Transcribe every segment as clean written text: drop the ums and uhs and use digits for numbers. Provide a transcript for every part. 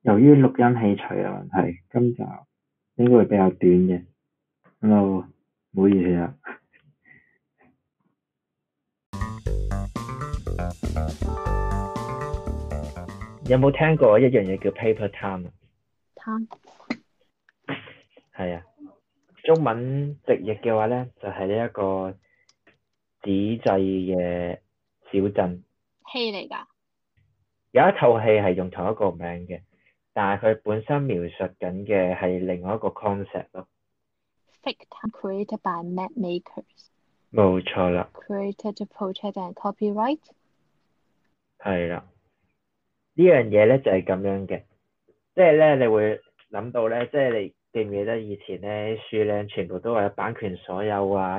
由於錄音器材嘅問題，今集應該會比較短嘅，咁就唔好意思啦。有冇聽過一樣嘢叫 paper time 啊？ time 係啊，中文直譯嘅話咧，就係呢一個紙製嘅小鎮。 戲嚟㗎。 有一套戲係用同一個名嘅，但係佢本身描述緊嘅係另外一個 concept 咯。 Fake time created by map makers。 冇錯啦。 Created to protect and copyright。 係啦，呢樣嘢咧就係咁樣嘅，即係咧你會諗到咧，即係你記唔記得以前咧書咧全部都話有版權所有啊，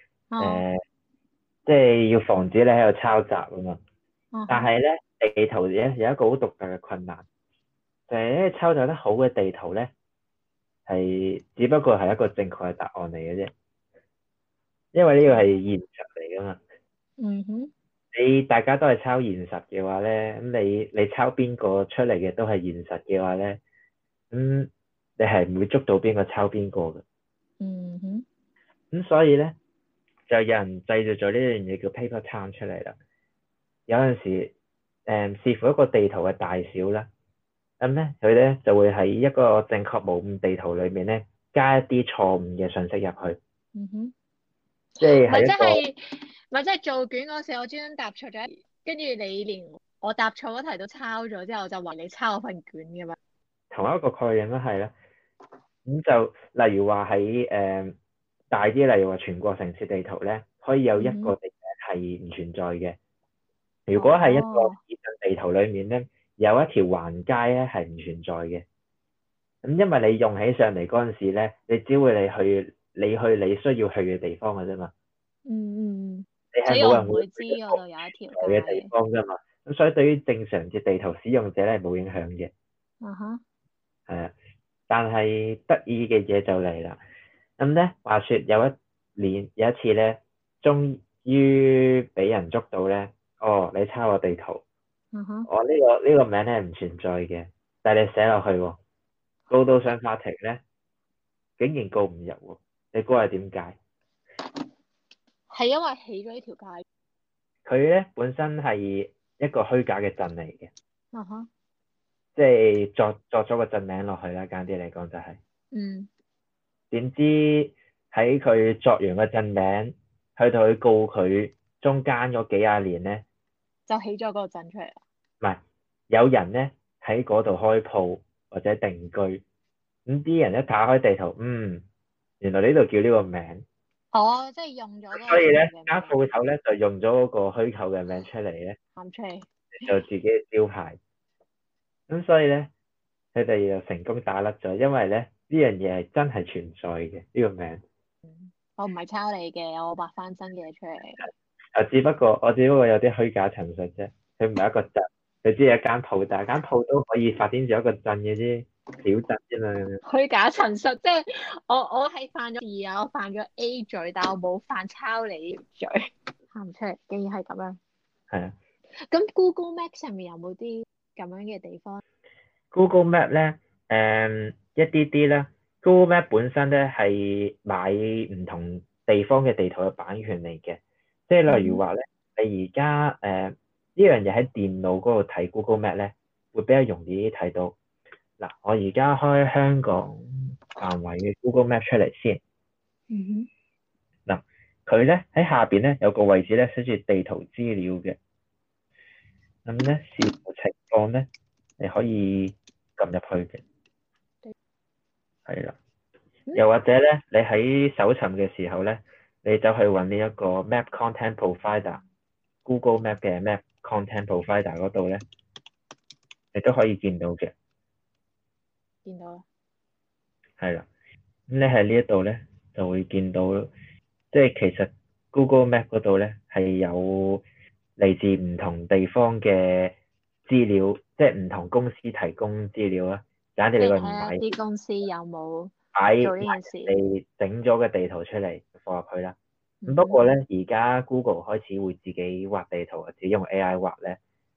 即係要防止你喺度抄襲啊嘛。但係咧地圖咧有一個好獨特嘅困難，就係咧抄襲得好嘅地圖咧係只不過係一個正確嘅答案嚟嘅啫，因為呢個係現實嚟噶嘛。 嗯哼。 大家都係抄現實嘅話咧，咁你抄邊個出嚟嘅都係現實嘅話咧，咁你係唔會捉到邊個抄邊個嘅。 嗯哼。 咁所以咧就有人製造咗呢樣嘢叫 paper town 出嚟啦。有陣時視乎一個地圖嘅大小啦，咁咧佢咧就會喺一個正確無誤地圖裏面咧加一啲錯誤嘅信息入去。 嗯哼。 即係咪即一個係咪即係做卷嗰時我專登答錯咗，跟住你連我答錯嗰題都抄咗之後就話你抄我份卷嘅嘛？ 同一個概念都係啦。咁就例如話喺大啲，例如話全國城市地圖咧，可以有一個地名係唔存在嘅。如果係一個市鎮地圖裏面咧，有一條橫街咧係唔存在嘅。咁因為你用起上嚟嗰陣時咧，你只會你需要去嘅地方嘅啫嘛。 嗯。 你係所以我冇人會唔會知嗰度有一條嘅地街。 方㗎嘛。咁所以對於正常嘅地圖使用者咧係冇影響嘅。係啊，但係得意嘅嘢就嚟啦。咁咧，話說有一次咧，終於俾人捉到咧。哦，你抄我地圖。我呢個名咧唔存在嘅，但係你寫落去喎，告到上法庭咧，竟然告唔入喎。你估係點解？ 係因為起咗呢條街。 佢咧本身係一個虛假嘅鎮嚟嘅。 哼。 即係作咗個鎮名落去啦，簡單啲嚟講就係。點知喺佢作完個鎮名，去到佢告佢中間嗰幾廿年咧， 就起咗嗰個鎮出嚟啦。 唔係，有人咧喺嗰度開鋪或者定居，咁啲人一打開地圖，原來呢度叫呢個名。 哦，即係用咗嗰個所以咧名間鋪頭咧就用咗嗰個虛構嘅名出嚟咧， 喊出嚟。 就自己嘅招牌。咁所以咧，佢哋就成功打甩咗，因為咧呢樣嘢係真係存在嘅呢個名。 我唔係抄你嘅，我畫翻新嘅出嚟。 我只不過有啲虛假陳述啫，佢唔係一個鎮，佢只係一間鋪，但係間鋪都可以發展做一個鎮嘅啫，小鎮啫嘛。 虛假陳述，即係我係犯咗事啊，我犯咗 A 罪，但我冇犯抄你罪，喊唔出嚟，竟然係咁樣。 係啊。 咁 Google Map 上面有冇啲咁樣嘅地方？ Google Map 咧，一啲啲啦。Google Map 本身咧係買唔同地方嘅地圖嘅版權嚟嘅，即係例如話咧，你而家呢樣嘢喺電腦嗰度睇 Google Map 咧，會比較容易啲睇到。嗱，我而家開香港範圍嘅 Google Map 出嚟先。嗱，佢咧喺下邊咧有個位置咧寫住地圖資料嘅，咁咧視乎情況咧，你可以撳入去嘅。係啦，又或者咧，你喺搜尋嘅時候咧，你走去揾呢一個 Map Content Provider，Google Map 嘅 Map Content Provider 嗰度咧，你都可以見到嘅。 見到啦。 係啦，咁你喺呢一度咧就會見到，即係其實 Google Map 嗰度咧係有嚟自唔同地方嘅資料，即係唔同公司提供資料啦。簡直你個唔買啲公司有冇買做呢件事？ 你整咗個地圖出嚟放入去啦。咁不過咧，而家 Google 開始會自己畫地圖，自己用 AI 畫咧。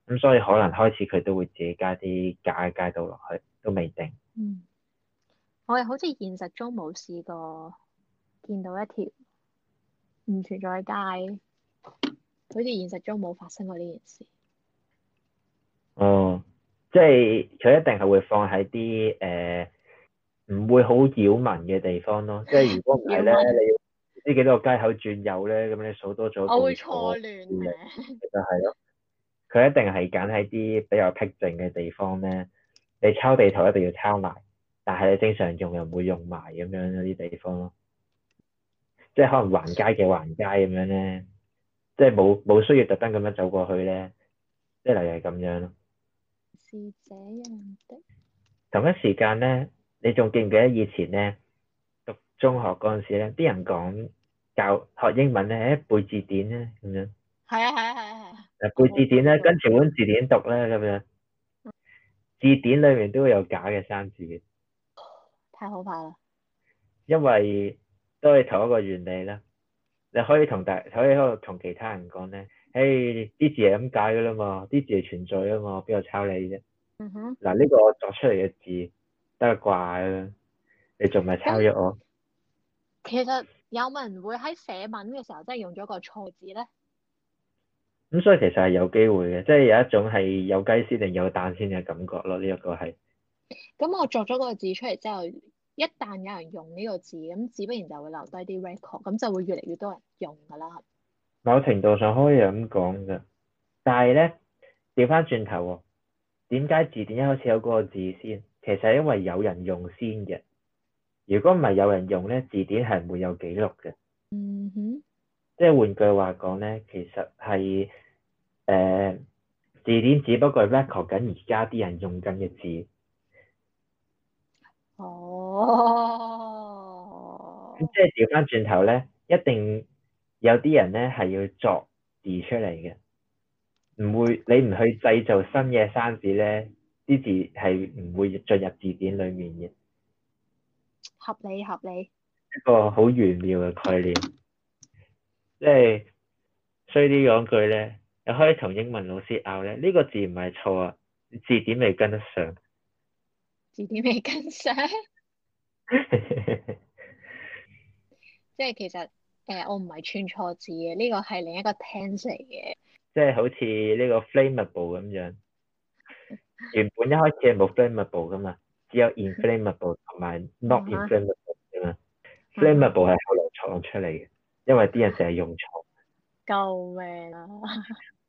咁所以可能開始佢都會自己加啲街道落去，都未定。 嗯，我又好似現實中冇試過見到一條唔存在嘅街，好似現實中冇發生過呢件事。 哦，即係佢一定係會放喺啲唔會好擾民嘅地方咯。即係如果唔係咧， 擾民， 你要唔知幾多個街口轉右咧，咁你數多咗我會報錯錯亂嘅， 嘅。 就係咯。佢一定係揀喺啲比較僻靜嘅地方咧。你抄地圖一定要抄埋，但係你正常用又唔會用埋咁樣嗰啲地方咯。即係可能橫街嘅橫街咁樣咧，即係冇需要特登咁樣走過去咧，即係例如係咁樣咯。 是這樣的。 同一時間咧，你仲記唔記得以前咧讀中學嗰陣時咧，啲人講教學英文咧，背字典咧咁樣， 係啊係啊係啊係啊，我冇背字典咧，跟背過。 住本字典讀咧咁樣，字典裏面都會有假嘅生字嘅， 太可怕啦！ 因為都係同一個原理啦。你可以喺度同其他人講咧，誒啲字係咁解噶啦嘛，啲字係存在啊嘛，邊度抄你啫？ 嗯哼。 嗱呢個我作出嚟嘅字得個怪啦，你仲咪抄咁咗我？ 其實有冇人會喺寫文嘅時候真係用咗個錯字咧？ 咁所以其實係有機會嘅，即係有一種係有雞先定有蛋先嘅感覺咯。呢一個係咁我作咗嗰個字出嚟之後，一旦有人用呢個字，咁自不然就會留低啲 record，咁就會越嚟越多人用㗎啦。 某程度上可以咁講嘅，但係咧調翻轉頭喎，點解字典一開始有嗰個字先？其實係因為有人用先嘅。如果唔係有人用咧，字典係唔會有記錄嘅。 嗯哼。 即係換句話講咧，其實係字典只不過係 record 緊而家啲人用緊嘅字。咁哦。 即係調翻轉頭咧，一定有啲人咧係要作字出嚟嘅，唔會你唔去製造新嘅生字咧，啲字係唔會進入字典裡面嘅。 合理合理。 一個好玄妙嘅概念，即係衰啲講句咧，你可以同英文老師拗咧，呢個字唔係錯啊，字典未跟得上。 字典未跟上。即係其實我唔係串錯字嘅，呢個係另一個 tense 嚟嘅。 即係好似呢個 flammable 咁樣，原本一開始係冇 flammable 噶嘛，只有 inflammable 同埋 not 嗯哼。 inflammable 噶嘛嗯哼。 ，flammable 係後來創出嚟嘅，因為啲人成日用錯。 救命啊！